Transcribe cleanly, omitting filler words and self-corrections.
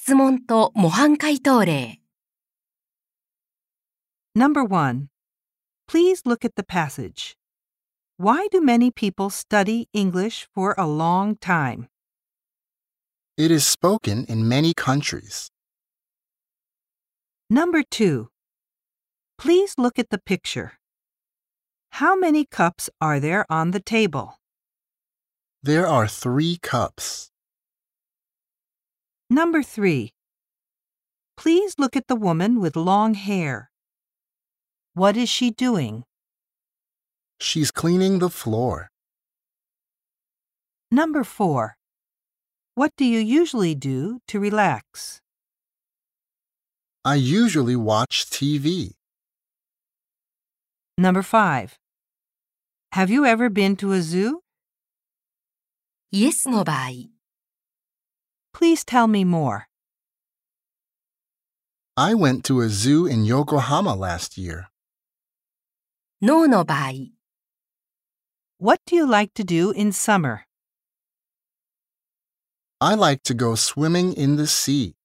質問と模範解答例。 Number 1. Please look at the passage. Why do many people study English for a long time? It is spoken in many countries. Number 2. Please look at the picture. How many cups are there on the table? There are 3 cups. Number 3. Please look at the woman with long hair. What is she doing? She's cleaning the floor. Number 4. What do you usually do to relax? I usually watch TV. Number 5. Have you ever been to a zoo? イエスの場合、 Please tell me more. I went to a zoo in Yokohama last year. ノーの場合、 What do you like to do in summer? I like to go swimming in the sea.